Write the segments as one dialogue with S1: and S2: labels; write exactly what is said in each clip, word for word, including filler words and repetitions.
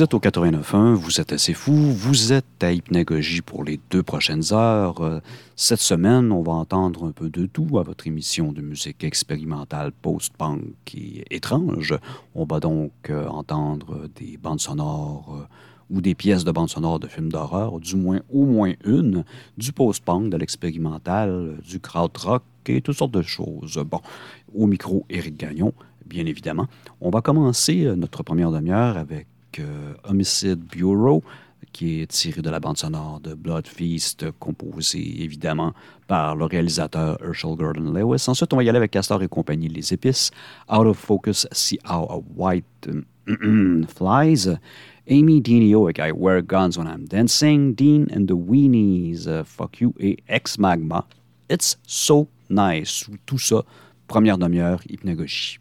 S1: Vous êtes au quatre-vingt-neuf point un, vous êtes assez fou, vous êtes à Hypnagogie pour les deux prochaines heures. Cette semaine, on va entendre un peu de tout à votre émission de musique expérimentale post-punk et étrange. On va donc euh, entendre des bandes sonores euh, ou des pièces de bandes sonores de films d'horreur, du moins au moins une, du post-punk, de l'expérimental, du krautrock et toutes sortes de choses. Bon, au micro, Éric Gagnon, bien évidemment. On va commencer notre première demi-heure avec euh, Homicide Bureau, qui est tiré de la bande sonore de Blood Feast, composée évidemment par le réalisateur Herschel Gordon Lewis. Ensuite, on va y aller avec Castor et compagnie, Les Épices, Out of Focus, See How a White um, Flies, Amy Dineo avec I Wear Guns When I'm Dancing, Dean and the Weenies, uh, Fuck You et Ex Magma, It's So Nice. Tout ça, première demi-heure, Hypnagogie.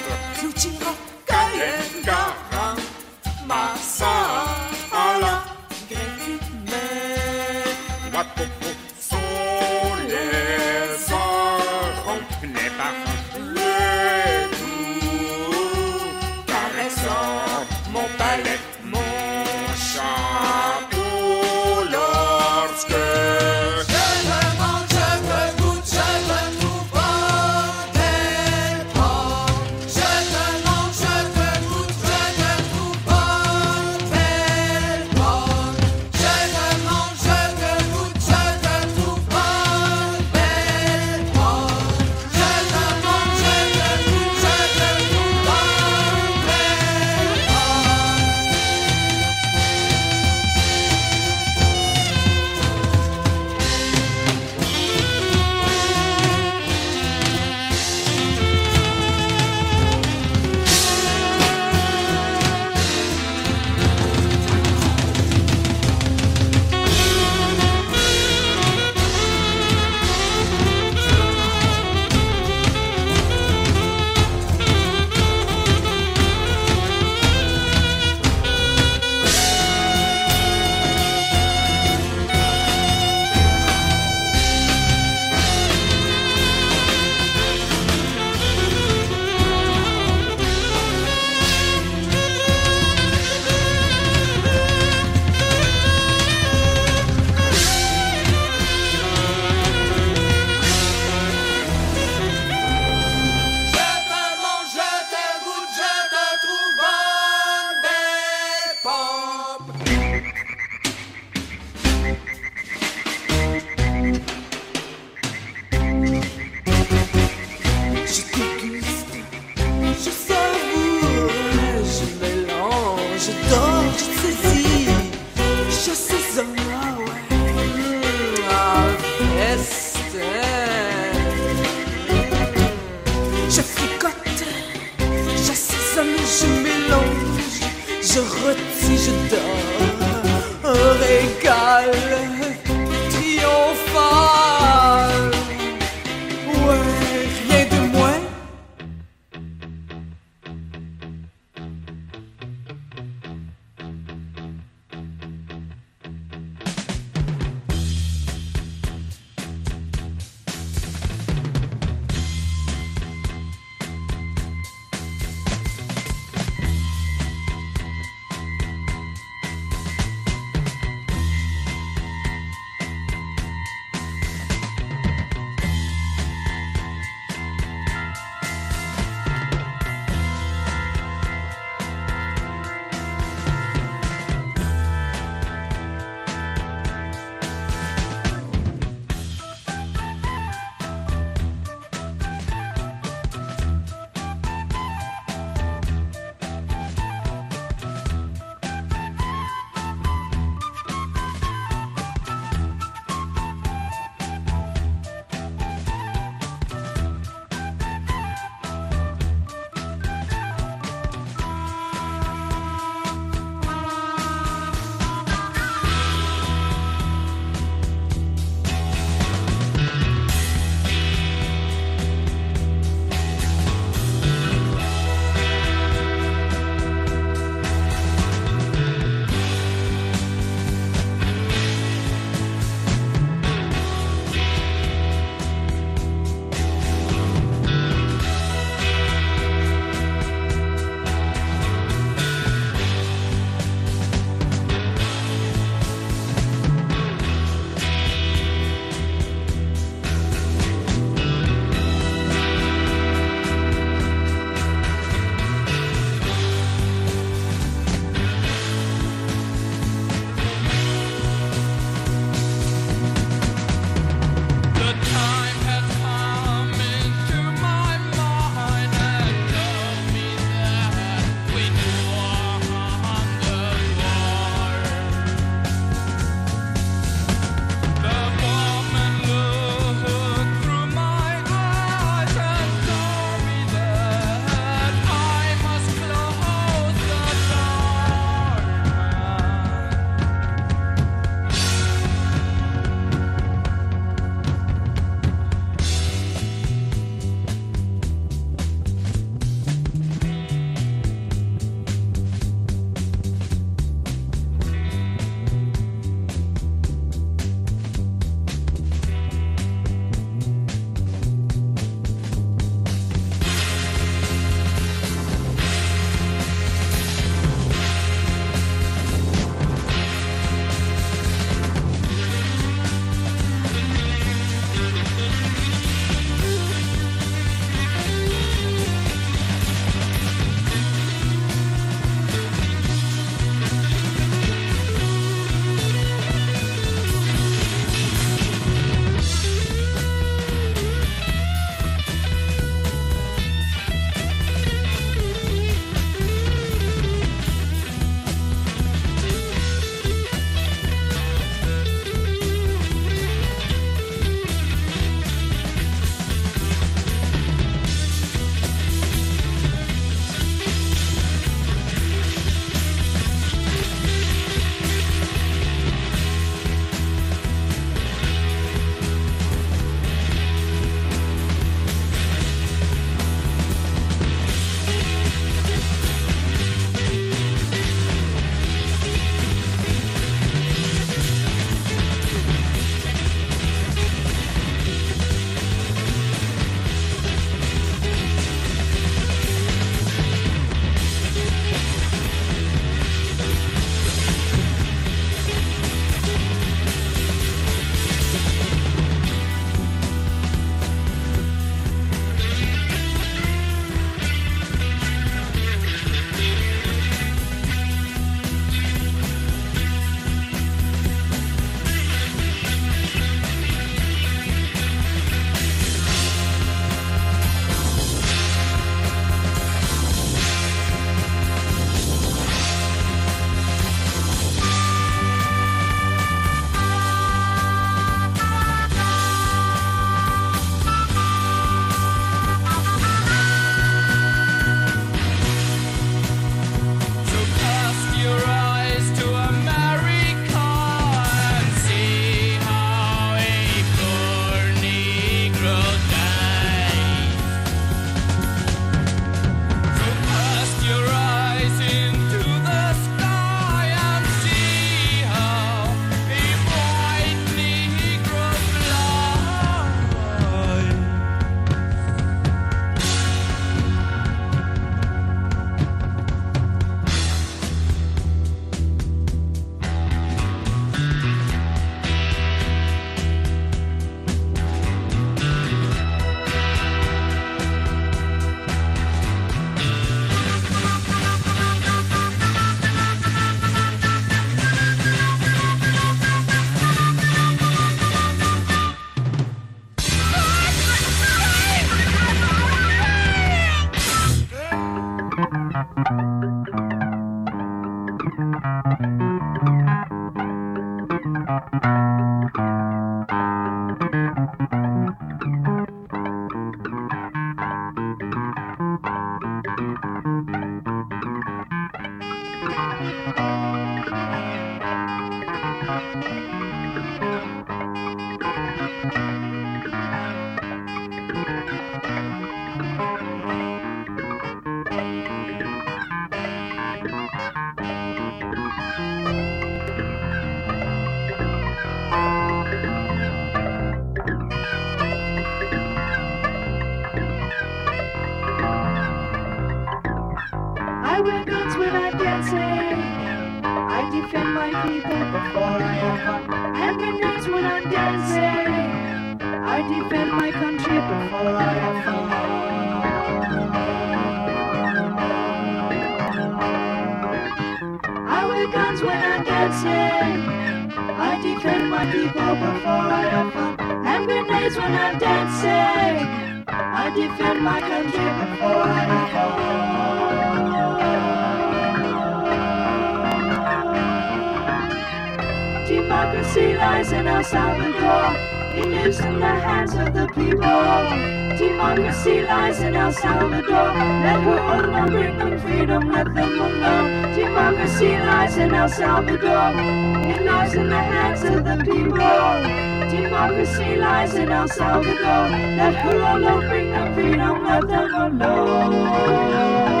S2: Democracy lies in El Salvador. It lives in the hands of the people. Democracy lies in El Salvador. Let who alone bring them freedom, let them alone. Democracy lies in El Salvador. It lies in the hands of the people. Democracy lies in El Salvador. Let who alone bring them freedom, let them alone.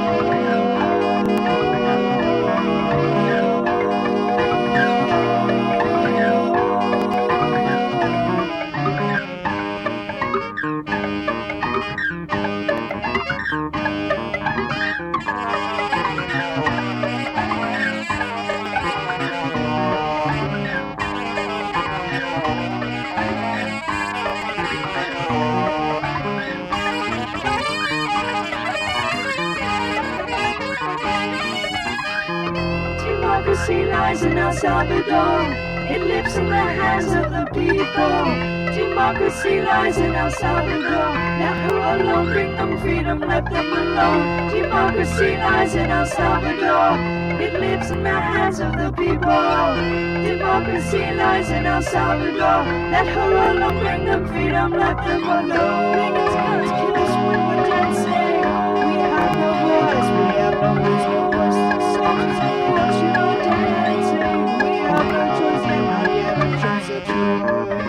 S2: Democracy lies in El Salvador. It lives in the hands of the people. Democracy lies in El Salvador. Let who alone bring them freedom, let them alone. Democracy lies in El Salvador. It lives in the hands of the people. Democracy lies in El Salvador. Let who alone bring them freedom, let them alone. Bigots, guns, kill us when we're dancing. We have no voice, we have no resource. Soldiers and guns, you know dancing. We have no choice, and not yet a chance of choice.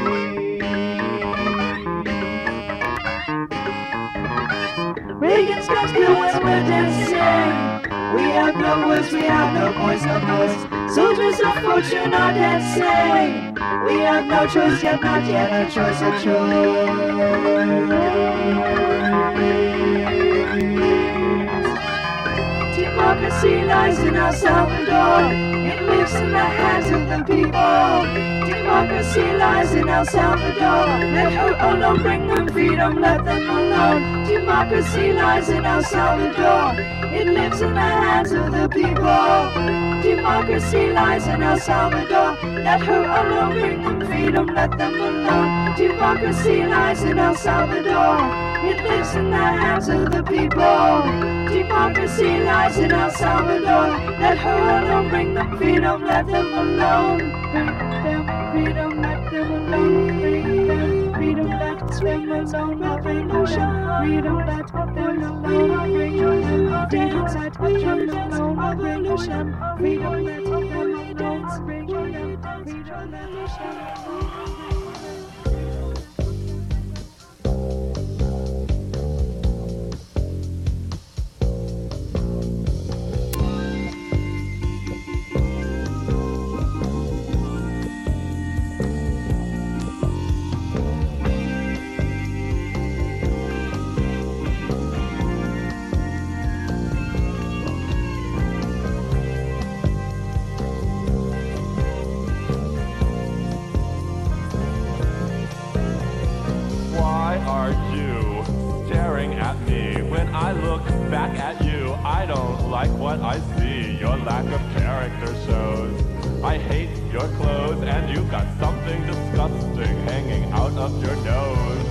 S2: Reagan's guns kill us when we're dancing. We have no words, we have no voice, no voice. Soldiers of fortune are dancing. We have no choice, yet not yet a choice, a choice. Democracy lies in El Salvador. It lives in the hands of the people. Democracy lies in El Salvador. Let who alone bring them freedom, let them alone. Democracy lies in El Salvador. It lives in the hands of the people. Democracy lies in El Salvador. Let who alone bring them freedom, let them alone. Democracy lies in El Salvador. It lives in the hands of the people. Democracy lies in El Salvador. Let who alone bring them freedom, let them alone. Bring them freedom, let them alone. Bring them freedom, let them alone. Revolution, freedom, let them alone. Bring them dance, let them alone. Revolution, freedom, let them dance. Bring them freedom, revolution.
S3: Back at you, I don't like what I see. Your lack of character shows. I hate your clothes, and you've got something disgusting hanging out of your nose.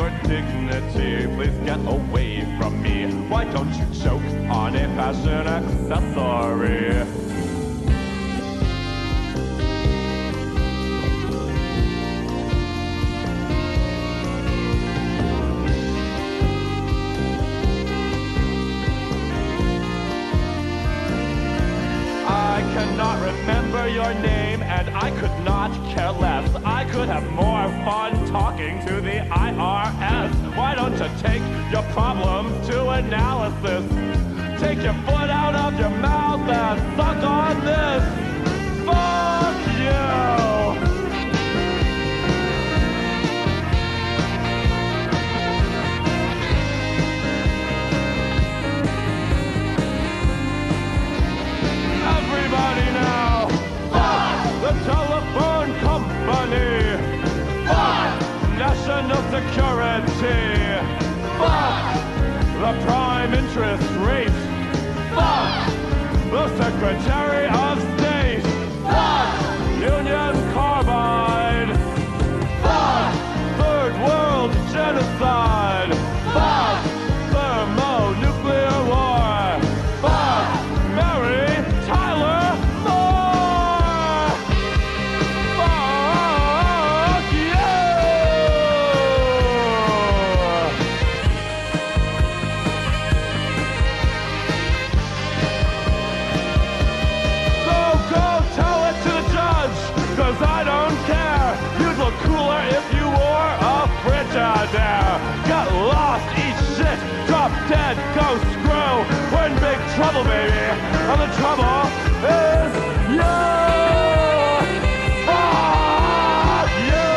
S3: your dignity. Please get away from me. Why don't you choke on a fashion accessory? I cannot remember your name, and I could not care less. I could have more fun talking to the I R S. Why don't you take your problem to analysis? Take your foot out of your mouth and suck on this. Fuck you! Everybody now! Fuck the telephone company! Fuck national security! Fuck the prime interest rate! Fuck the Secretary of State! Fuck Union Carbide! Fuck Third World Genocide! Fuck thermonuclear war! Fuck Mary Tyler Moore! Fuck you! So go tell it to the judge, cause I don't care. You'd look cooler if you wore a Frigidaire. Get lost, eat shit, drop dead, go screw. We're in big trouble, baby. And the trouble is you! Fuck you!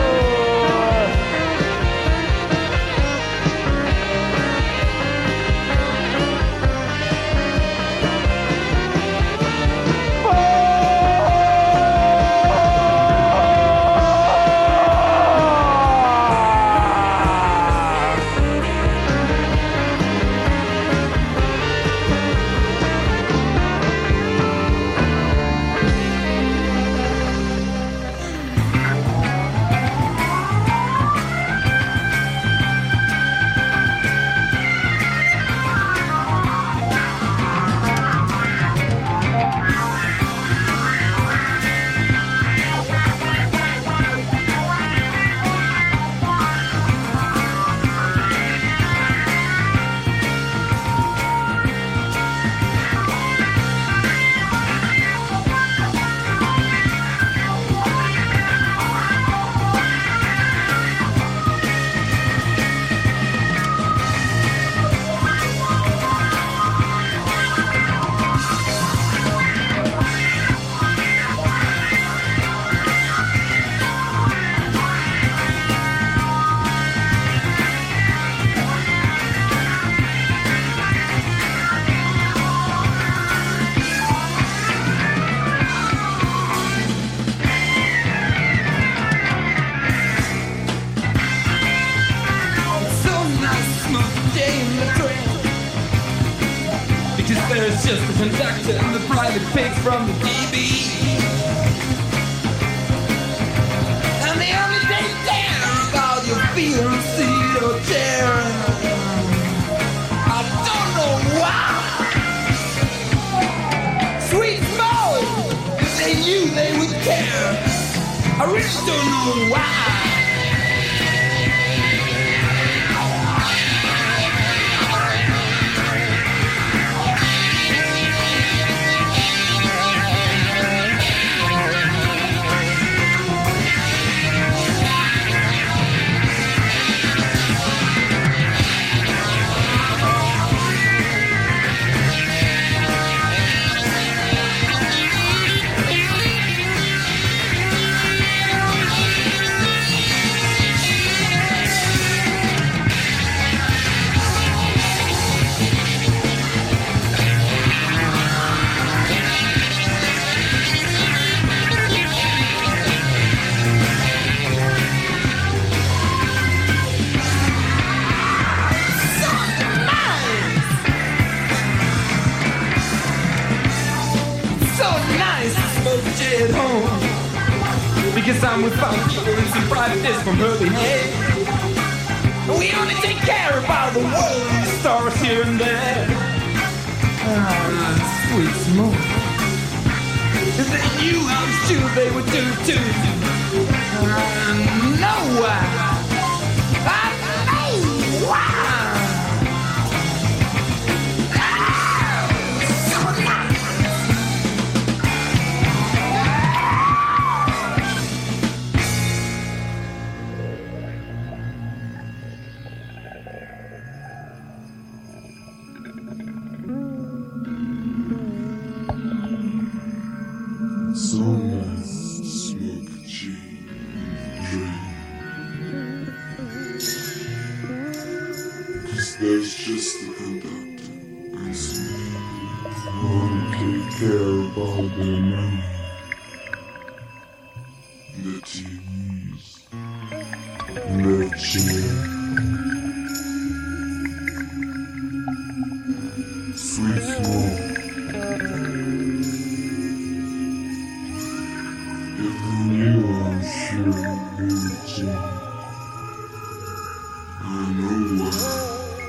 S4: There's just the conductor and the private pigs from the D B. And they only take care about your feeling, seat or chair. I don't know why. Sweet smoke, if they knew they would care. I really don't know why. At home because I'm with funky and some private disc from Herbie Hay. We only take care about the world stars here and there. Ah, sweet smoke. If they knew how sure they would do too. I know why. I know why.
S5: So nice to smoke a G and drink. Cause there's just the conductor and some who take care about their money. Their T Vs and their chairs. Sweet smoke. You are sure you I know why.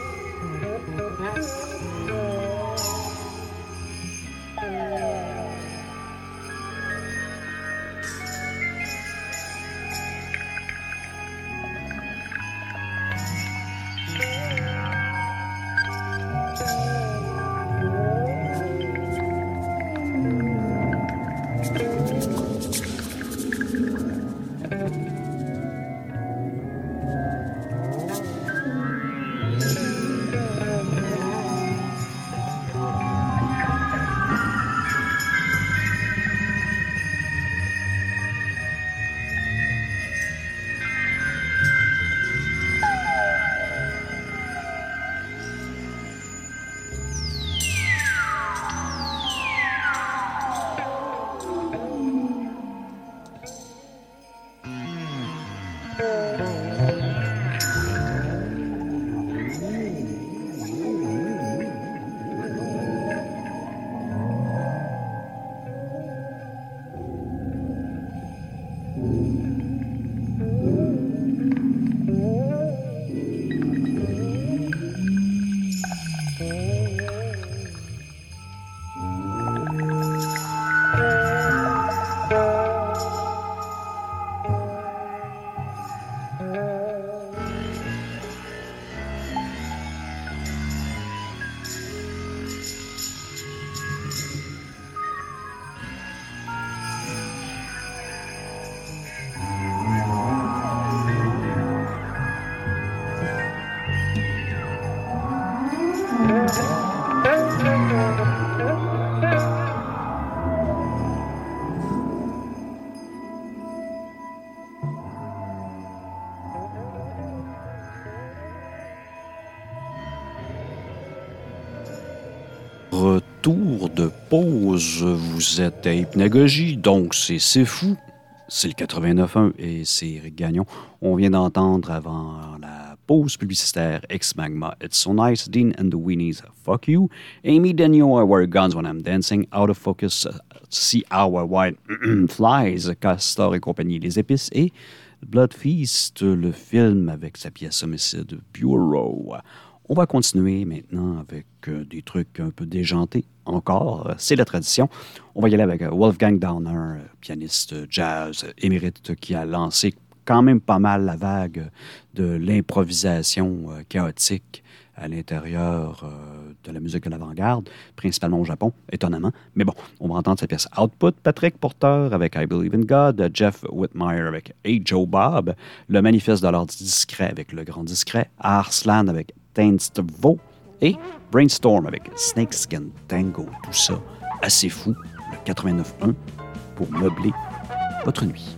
S1: Retour de pause, vous êtes à Hypnagogie, donc c'est C'est Fou, c'est le quatre-vingt-neuf point un et c'est Eric Gagnon. On vient d'entendre avant la pause publicitaire Ex Magma, It's So Nice, Dean and the Weenies, Fuck You, Amy Denio, I Wear Guns When I'm Dancing, Out of Focus, See How I White Flies, Castor et compagnie, Les Épices et Blood Feast, le film avec sa pièce homicide Bureau. On va continuer maintenant avec euh, des trucs un peu déjantés encore. C'est la tradition. On va y aller avec Wolfgang Downer, pianiste jazz émérite qui a lancé quand même pas mal la vague de l'improvisation euh, chaotique à l'intérieur euh, de la musique de l'avant-garde, principalement au Japon, étonnamment. Mais bon, on va entendre sa pièce Output, Patrick Porter avec I Believe in God, Jeff Whitmire avec Hey Joe Bob, le Manifeste de l'ordre discret avec Le Grand Discret, Arslan avec Tainstvo et Brainstorm avec Snakeskin Tango. Tout ça assez fou, le quatre-vingt-neuf point un pour meubler votre nuit.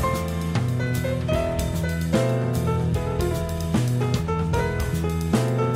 S2: Thank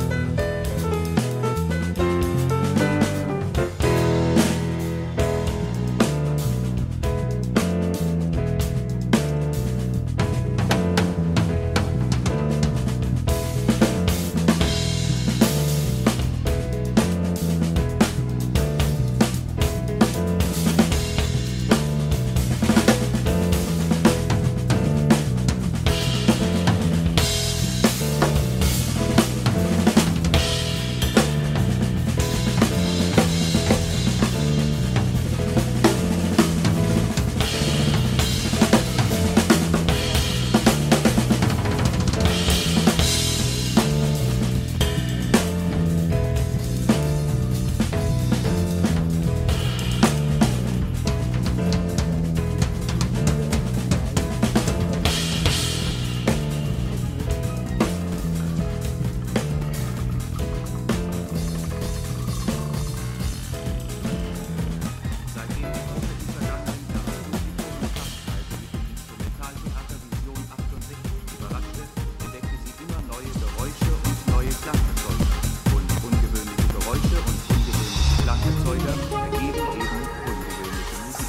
S6: Vorbilder ergeben eben ungewöhnliche Musik.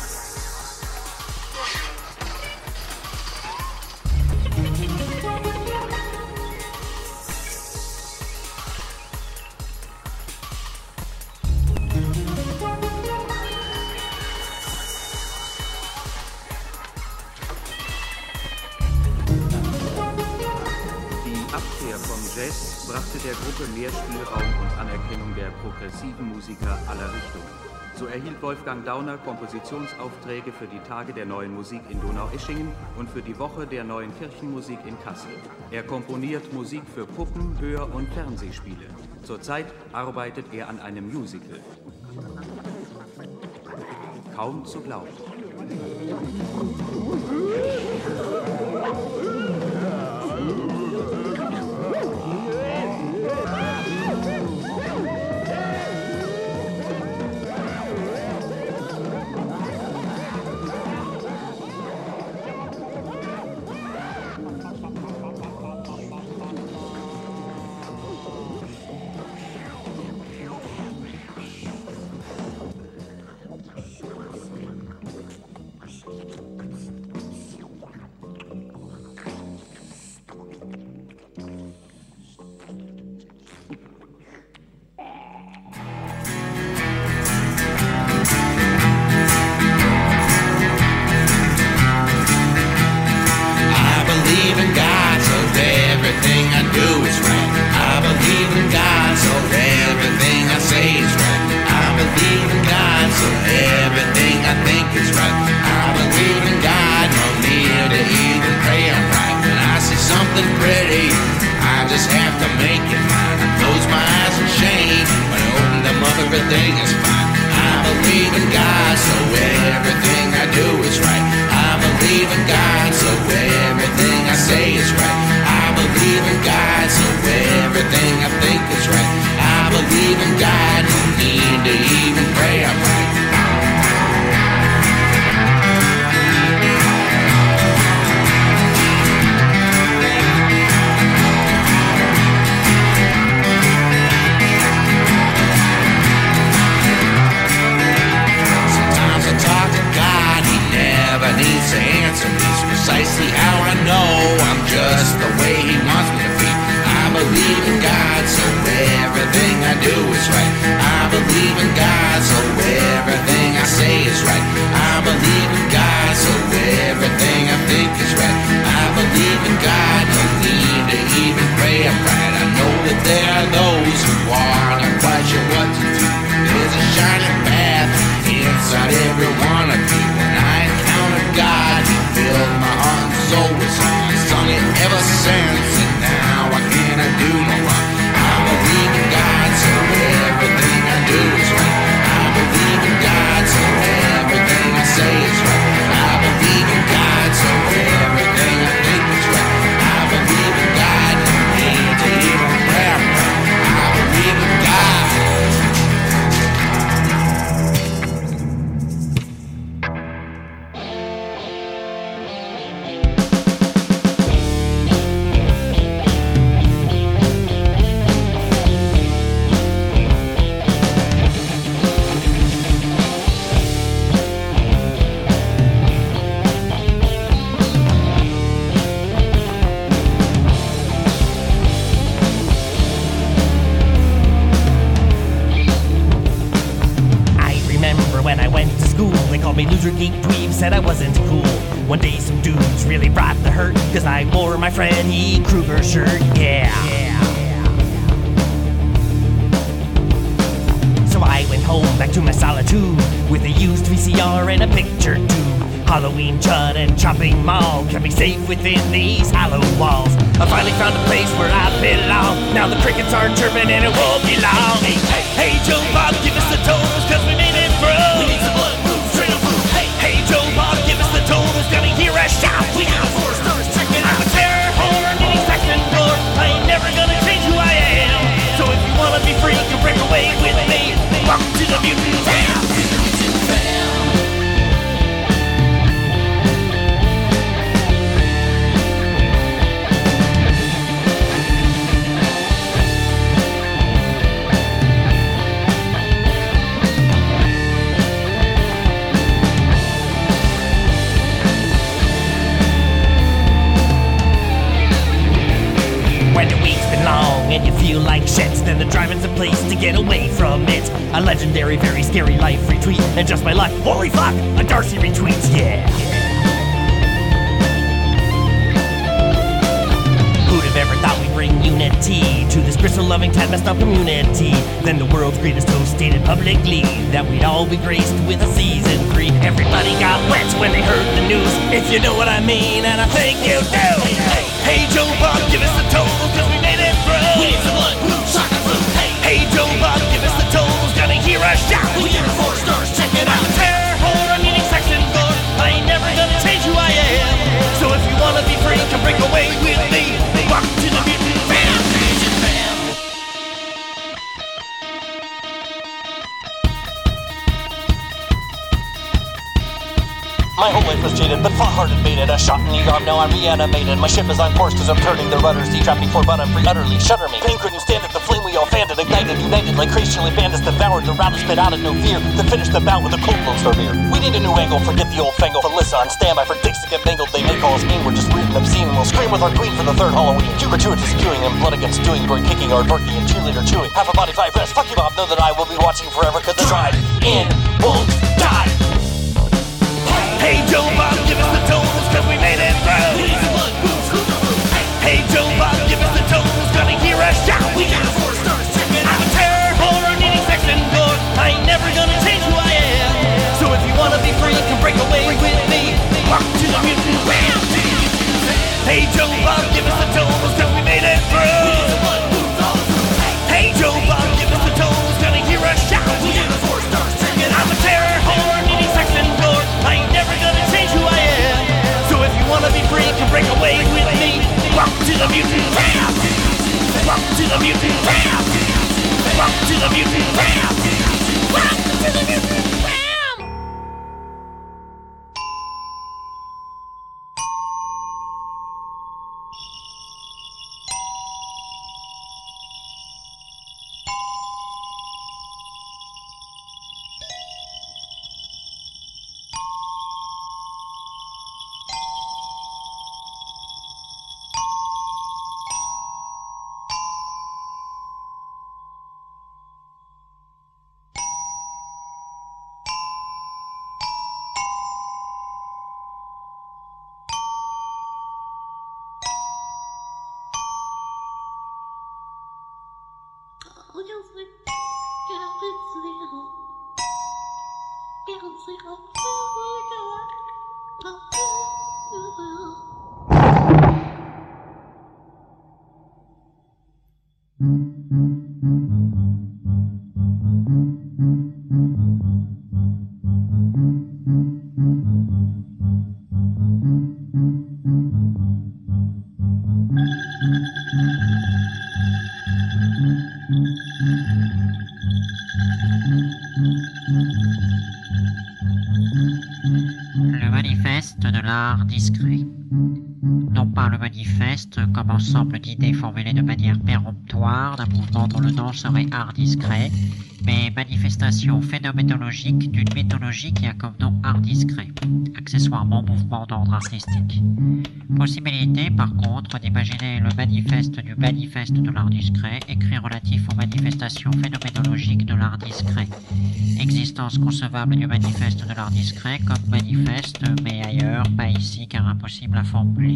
S6: Jazz brachte der Gruppe mehr Spielraum und Anerkennung der progressiven Musiker aller Richtungen. So erhielt Wolfgang Dauner Kompositionsaufträge für die Tage der neuen Musik in Donaueschingen und für die Woche der neuen Kirchenmusik in Kassel. Er komponiert Musik für Puppen-, Hör- und Fernsehspiele. Zurzeit arbeitet er an einem Musical. Kaum zu glauben.
S7: and you feel like shit, then the drive-in's a place to get away from it. A legendary, very scary life retweet, and just my luck, holy fuck, a Darcy retweets, yeah. Who'd have ever thought we'd bring unity to this bristle-loving, tad messed up community? Then the world's greatest host stated publicly that we'd all be graced with a season three. Everybody got wet when they heard the news, if you know what I mean, and I think you do. Hey, hey, hey Joe Bob, give us the totals, cause we made it through. We need some blood, blue, soccer, blue. Hey, hey Joe Bob, give us the totals, gonna hear us shout. We give it four stars, check it out. Terror, horror, meaning sex and gore. I ain't never gonna change who I am. So if you wanna be free, come break away with me. Walk to the mutant fam, mutant fam.
S8: My whole life was jaded, but fought-hearted baited. I shot an e-arm, now I'm reanimated. My ship is on course cause I'm turning the rudders. Detrapped before but I'm free, utterly shudder me. Pain couldn't stand it, the flame we all fanned it. Ignited, united like crazy chilly bandits. Devoured the round and spit out of no fear. Then finished the bout with a cold Lone Star beer. We need a new angle, forget the old fangle. Felissa on standby for dicks to get mangled. They may call us mean, we're just weird and obscene. And we'll scream with our queen for the third Halloween. Too gratuitous queuing and blood against doing. Brain kicking, hard barking and cheerleader chewing. Half a body, five rest. Fuck you, Bob, know that I will be watching forever cause the drive in won't die.
S7: Hey Joe Bob, give us the totals, cause we made it through. We need some blood, booze, who's the blue? Hey Joe Bob, give us the totals, gonna hear us shout. We got four stars, check it out. I'm a terror, horror, needing sex and gore. I ain't never gonna change who I am. So if you wanna be free, come break away with me. Walk to the mutant fam. Hey Joe Bob, give us the totals, cause we made it through. We need some blood, booze, all the blue. Hey Joe Bob, give us the totals, gonna hear us shout. We got four stars, check it out. I'm a terror, horror, needing sex and gore. I ain't never gonna change who I am. So if you wanna be free, come break away with me. Walk to the mutant fam. Walk to the mutant fam. Walk to the mutant fam. Walk to the mutant fam.
S9: Discret. Non pas le manifeste comme ensemble d'idées formulées de manière péremptoire d'un mouvement dont le nom serait art discret, mais manifestation phénoménologique d'une mythologie qui a comme nom art discret, accessoirement mouvement d'ordre artistique. Possibilité, par contre, d'imaginer le manifeste du manifeste de l'art discret, écrit relatif aux manifestations phénoménologiques de l'art discret. Existence concevable du manifeste de l'art discret comme manifeste, mais ailleurs, pas ici car impossible à formuler.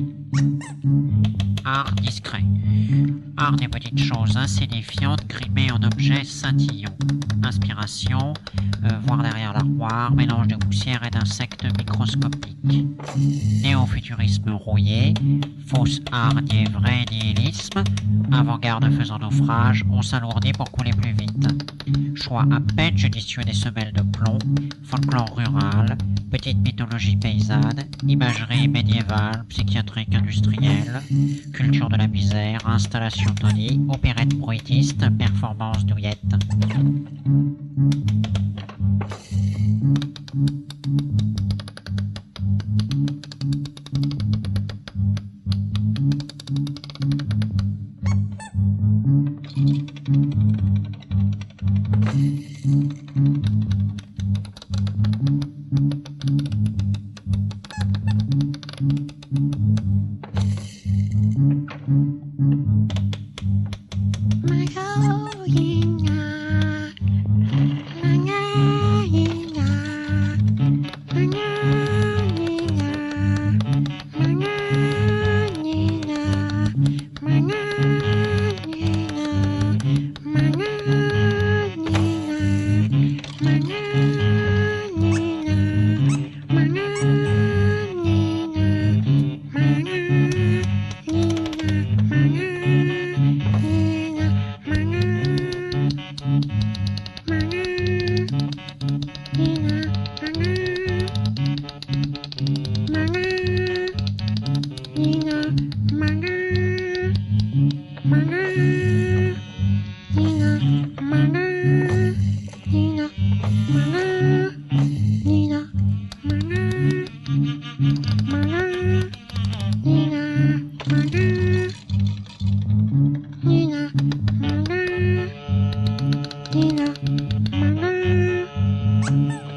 S9: Art discret. Art des petites choses insignifiantes grimées en objets scintillants. Inspiration, euh, voir derrière l'armoire, mélange de poussière et d'insectes microscopiques. Néo-futurisme rouillé, fausse art niais vrai nihilisme, avant-garde faisant naufrage, on s'alourdit pour couler plus vite. Choix à peine judicieux des semelles de plomb, folklore rural, petite mythologie paysanne, imagerie médiévale, psychiatrique industrielle, culture de la misère, installation Tony, opérette bruitiste, performance douillette.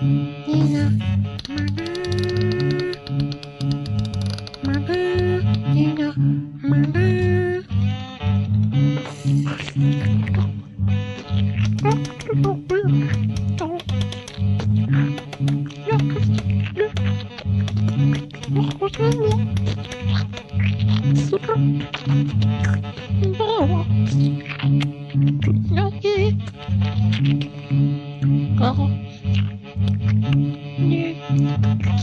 S10: Oh.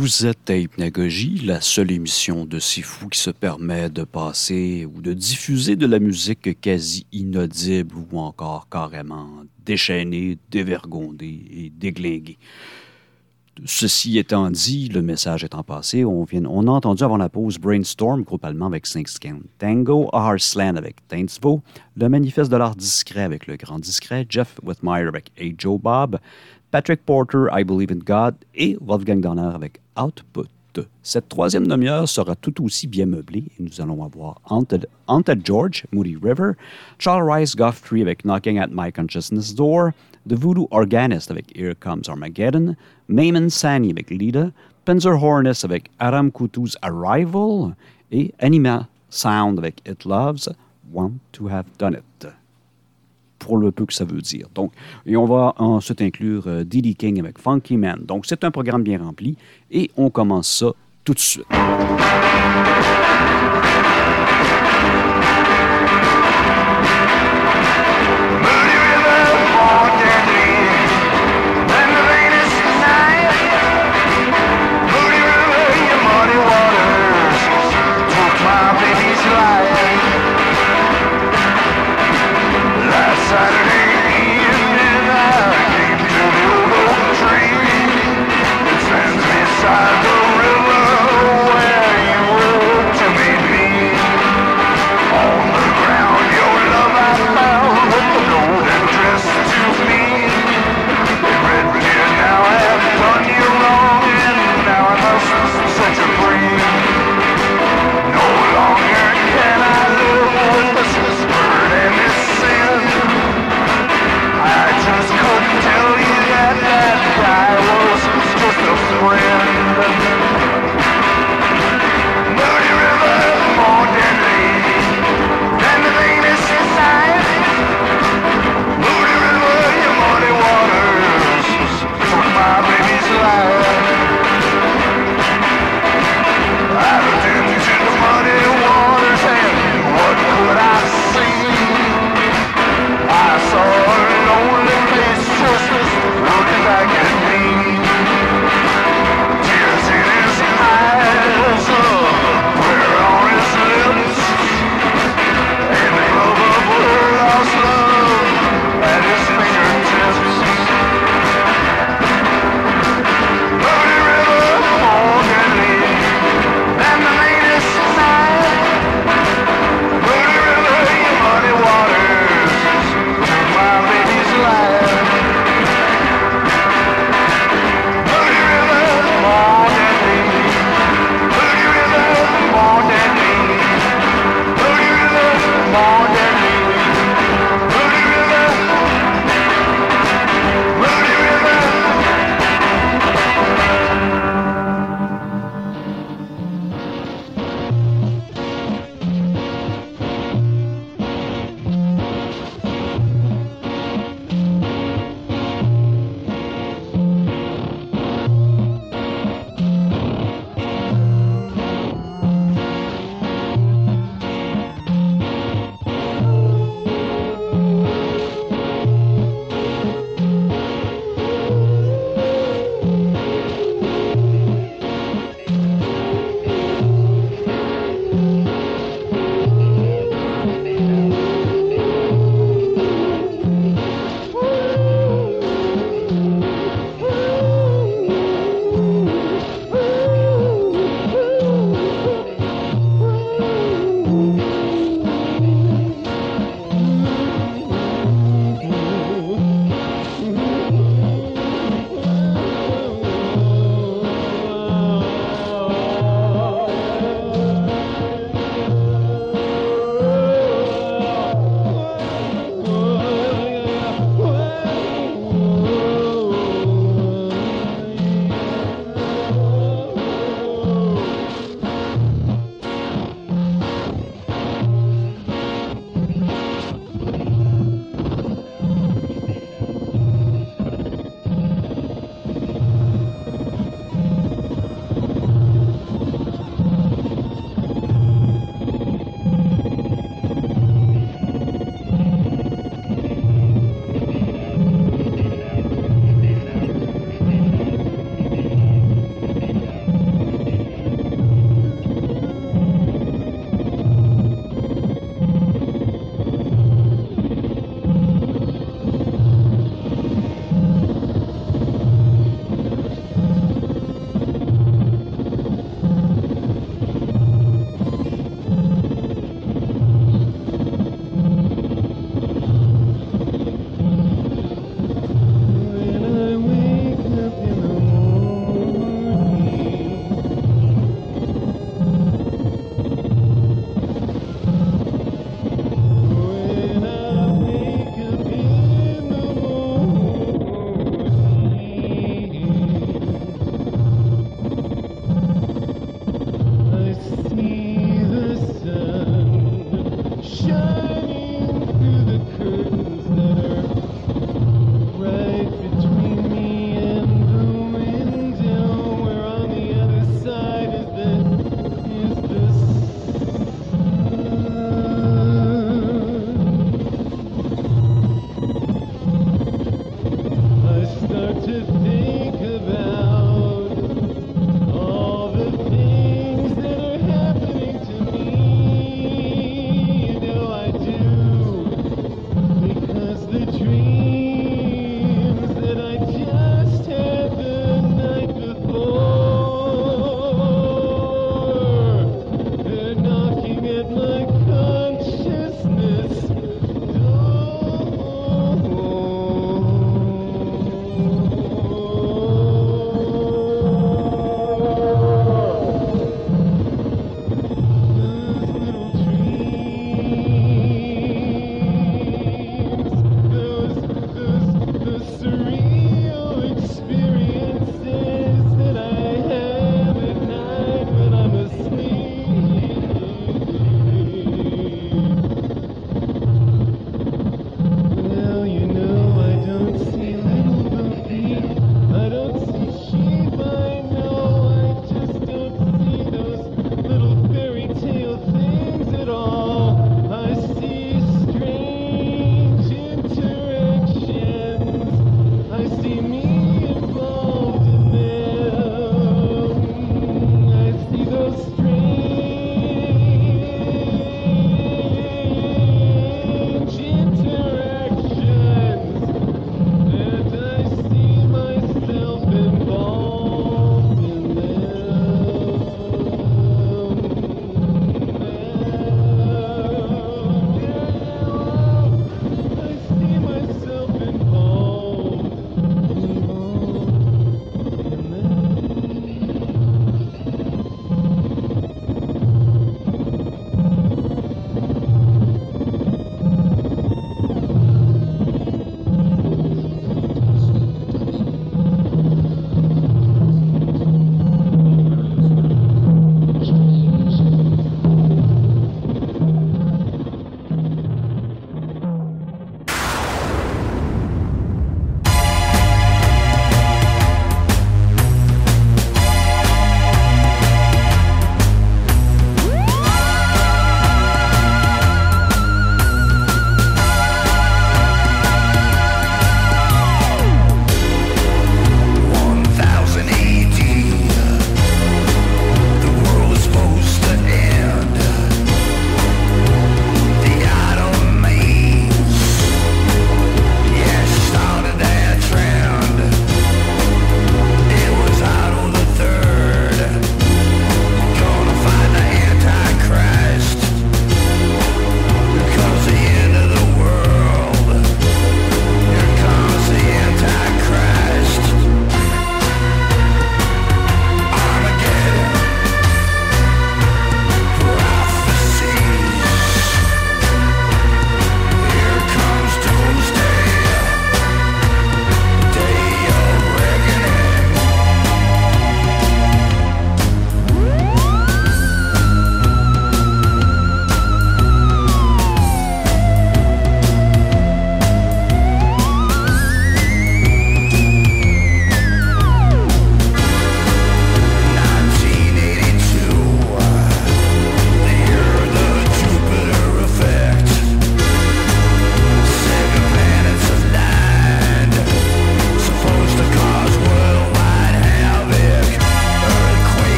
S1: Vous êtes à Hypnagogie, la seule émission de C'est Fou qui se permet de passer ou de diffuser de la musique quasi inaudible ou encore carrément déchaînée, dévergondée et déglinguée. Ceci étant dit, le message étant passé, on, vient, on a entendu avant la pause Brainstorm, groupe allemand avec Six Count Tango, Arslan avec Tainsvo, le Manifeste de l'Art Discret avec Le Grand Discret, Jeff Whitmire avec Hey Joe Bob, Patrick Porter, I Believe in God et Wolfgang Donner avec Output. Cette troisième demi-heure sera tout aussi bien meublée et nous allons avoir Haunted, Haunted George, Moody River, Charles Rice Guthrie avec Knocking at My Consciousness Door, The Voodoo Organist avec Here Comes Armageddon, Mayman Sani avec Lida, Pinzer Hornets avec Aram Kutu's Arrival et Anima Sound avec It Loves, Want to Have Done It. Pour le peu que ça veut dire. Donc, et on va ensuite inclure euh, D D King avec Funky Man. Donc, c'est un programme bien rempli et on commence ça tout de suite.
S10: Saturday evening, I came to the old tree. It sends me beside the river where you were to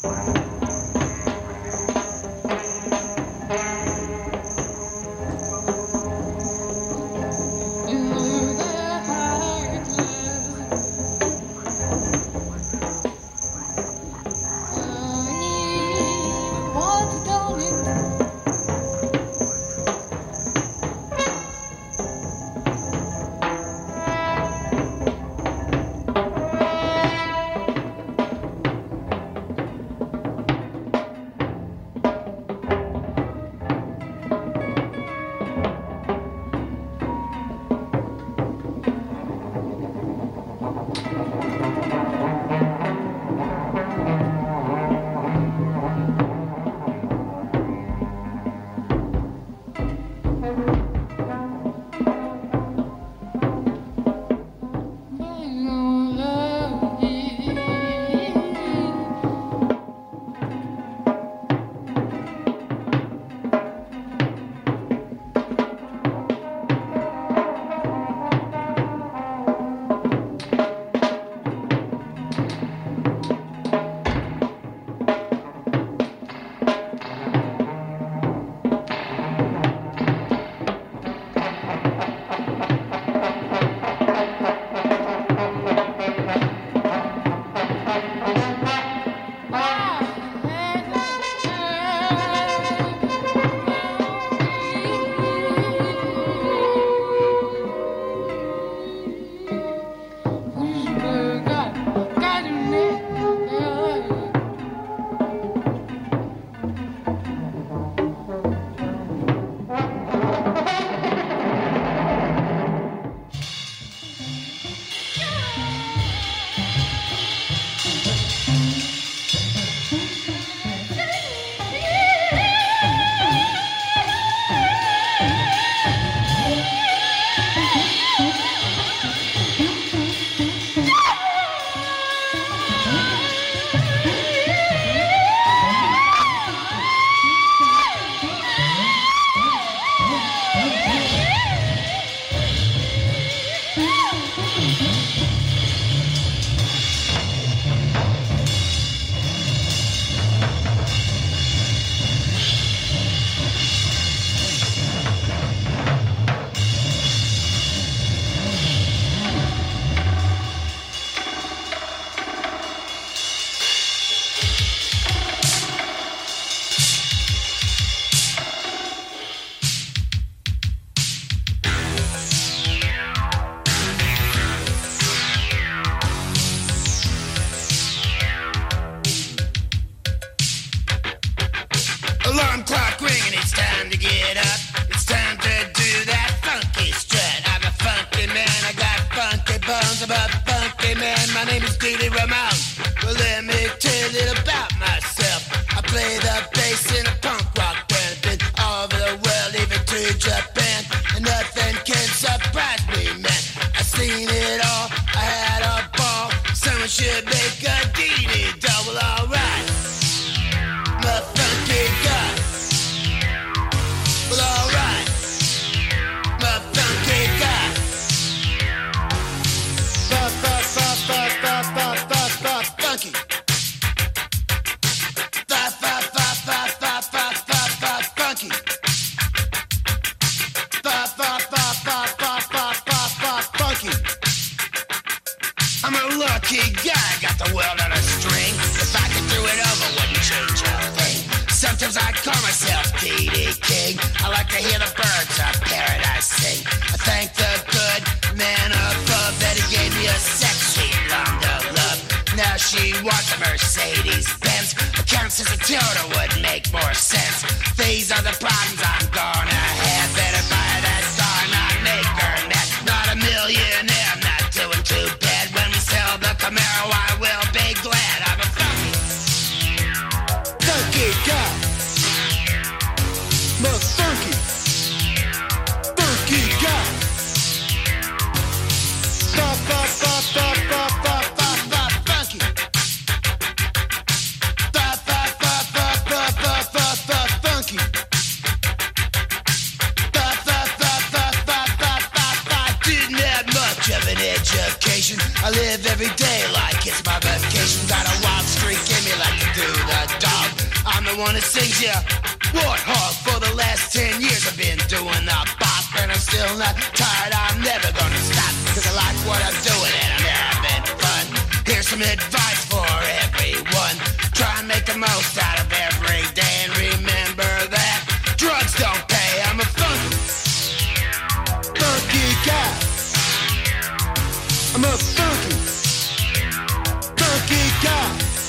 S7: Alarm clock ringing, it's time to get up. It's time to do that funky strut. I'm a funky man, I got funky bones. I'm a funky man, my name is Didi Ramon. Well, let me tell you a little about myself. I play the bass in a punk rock band. Been all over the world, even to Japan. And nothing can surprise me, man. I seen it all, I had a ball. Someone should make a Didi double, alright. My funky guy. Well, alright. My funky guy. Fuck, fuck, fuck, fuck, fuck, fuck, fuck, fuck, funky. Fuck, fuck, fuck, fuck, fuck, fuck, fuck, fuck, funky. Fuck, fuck, fuck, fuck, fuck, fuck, fuck, fuck, funky. I'm a lucky guy, got the world on a string. If I could do it over, wouldn't change a thing. Sometimes I call myself D D King. I like to hear the birds of paradise sing. I thank the good man above that he gave me a sexy blonde of love. Now she wants a Mercedes Benz. Accounts as a Toyota would make more sense. These are the problems I'm gonna have. Better buy that car, not make her mad. Not a millionaire, I'm not doing too bad. When we sell the Camaro, I will be glad. I'm a funky, funky guy. My funky, funky guy. Pop, pop, pop, pop, pop, pop, pop, pop, funky. Pop, pop, pop, pop, pop, pop, pop, pop, funky. Pop, pop, pop, pop, pop, pop, pop, pop. Didn't have much of an education. I live every day like it's my vacation. Got a wild streak in me like the
S11: do the dog. I'm the one that sings ya Warthog. For the last ten years I've been doing the bop, and I'm still not tired, I'm never gonna stop, cause I like what I'm doing and I'm having fun. Here's some advice for everyone: try and make the most out of every day, and remember that drugs don't pay. I'm a funky, funky guy. I'm a funky, funky guy.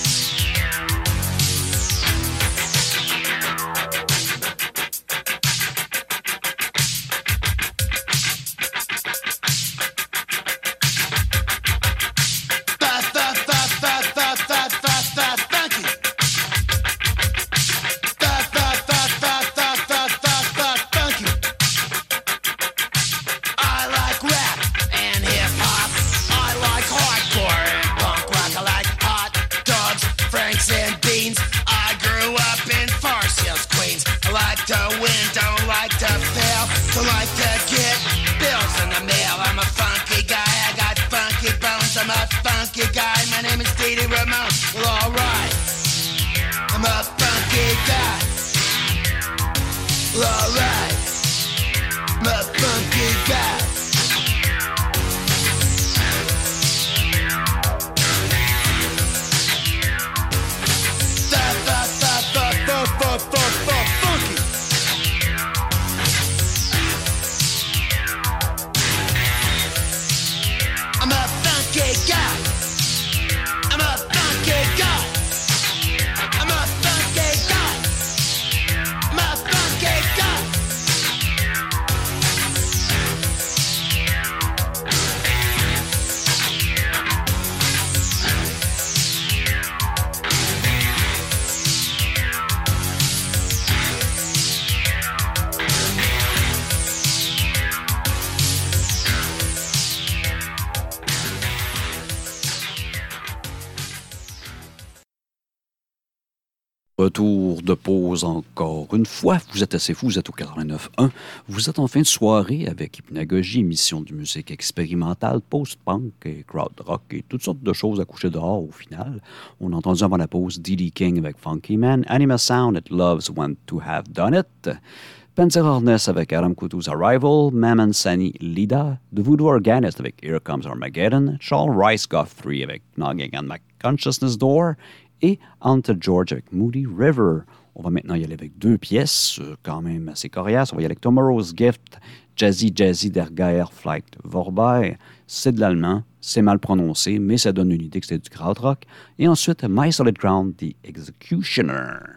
S1: Retour de pause encore une fois. Vous êtes assez fous, vous êtes au quatre-vingt-neuf un. Vous êtes en fin de soirée avec Hypnagogie, émission de musique expérimentale, post-punk et crowd rock et toutes sortes de choses à coucher dehors au final. On a entendu avant la pause D D King avec Funky Man, Anima Sound, It Loves When to Have Done It, Panzer Hornets avec Adam Kutu's Arrival, Maman Sani Lida, The Voodoo Organist avec Here Comes Armageddon, Charles Rice Guthrie avec Knocking on My Consciousness Door, et Ante George avec Moody River. On va maintenant y aller avec deux pièces, euh, quand même assez coriaces. On va y aller avec Tomorrow's Gift, Jazzy Jazzy der Geier Flight Vorbei. C'est de l'allemand, c'est mal prononcé, mais ça donne une idée que c'est du krautrock. Et ensuite, My Solid Ground, The Executioner.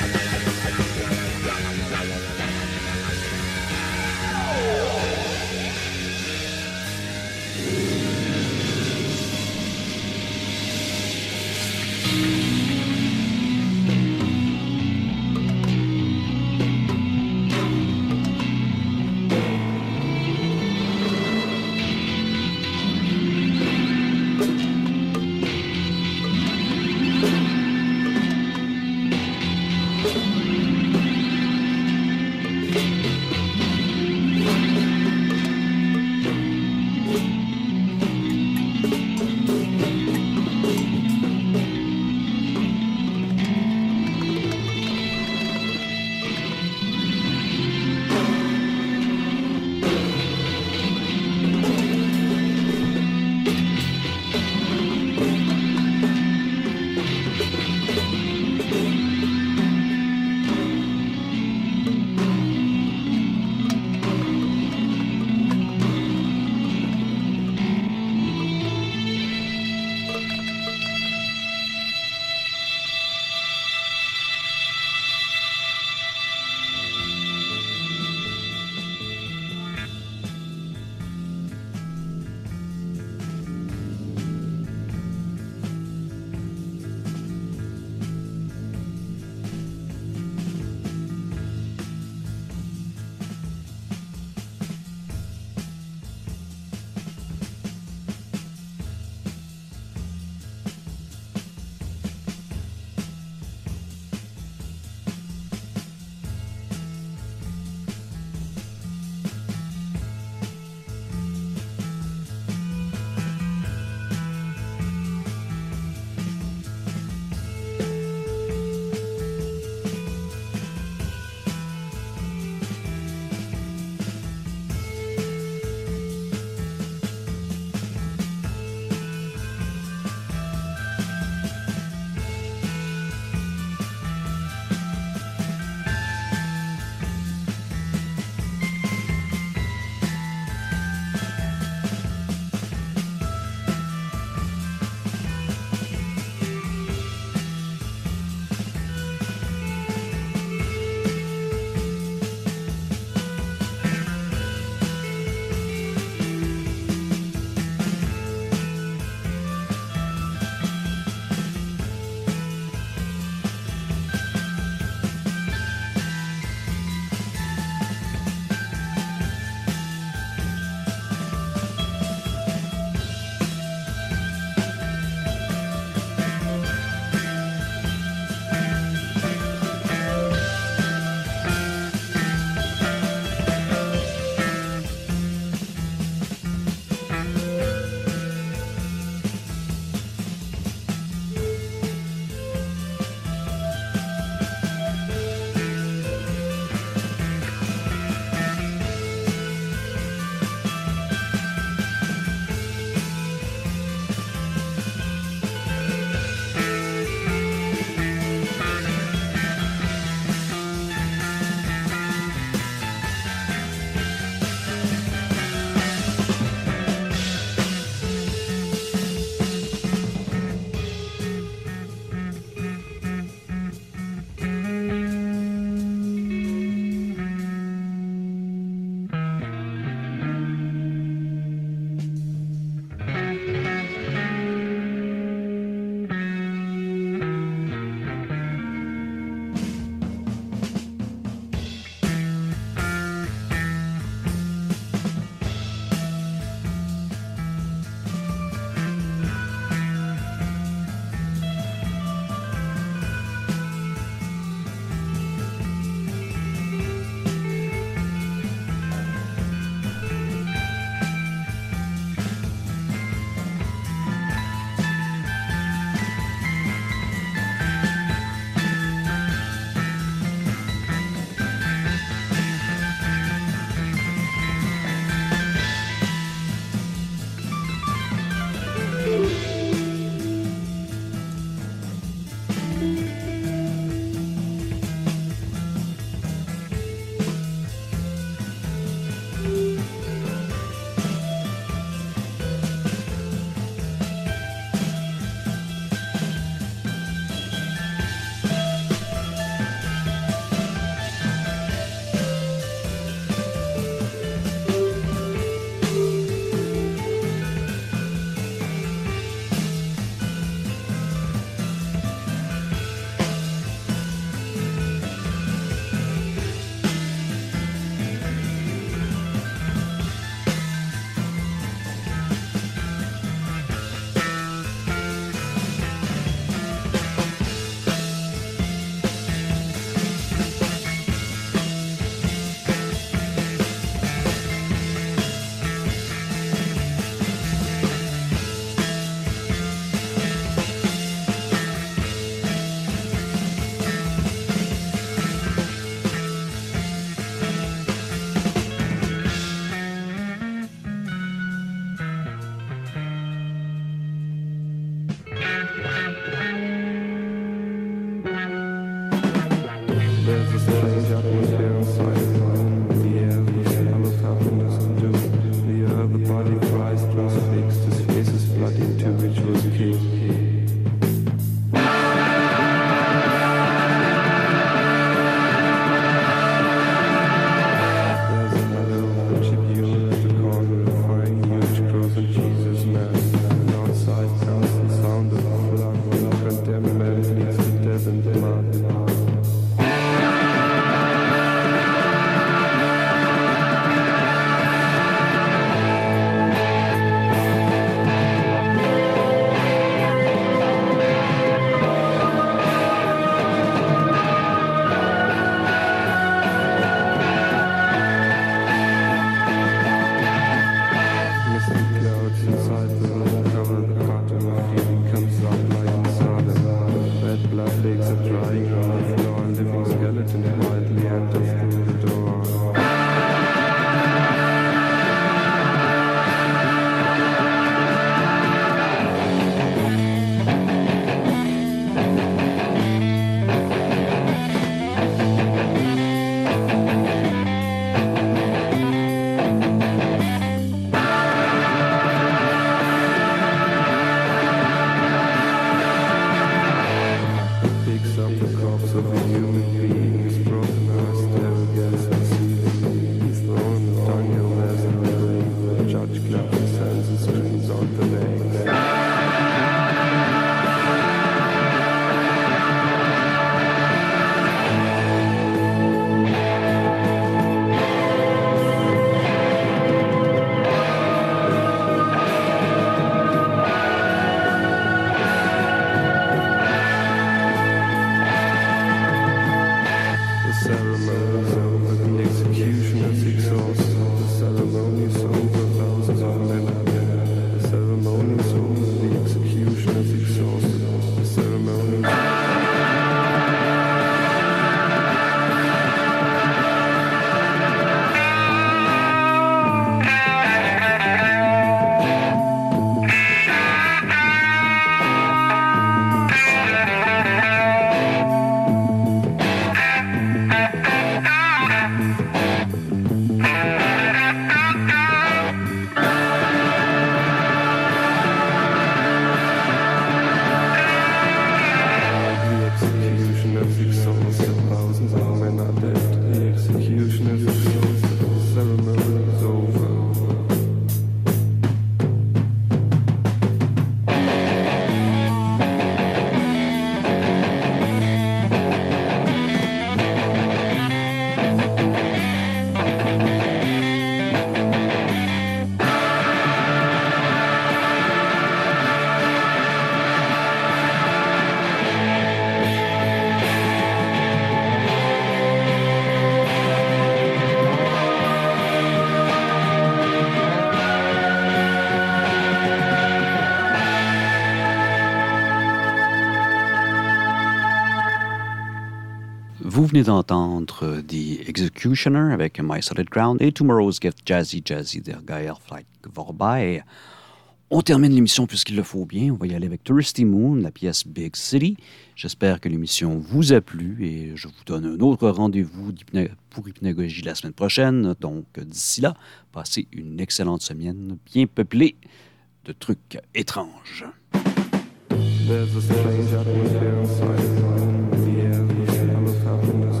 S1: Vous venez d'entendre The Executioner avec My Solid Ground et Tomorrow's Gift, Jazzy Jazzy der Geierflight vorbei. On termine l'émission puisqu'il le faut bien. On va y aller avec Thirsty Moon, la pièce Big City. J'espère que l'émission vous a plu et je vous donne un autre rendez-vous pour Hypnagogie la semaine prochaine. Donc, d'ici là, passez une excellente semaine bien peuplée de trucs étranges.
S12: There's a strange atmosphere inside the air, the smell of happiness.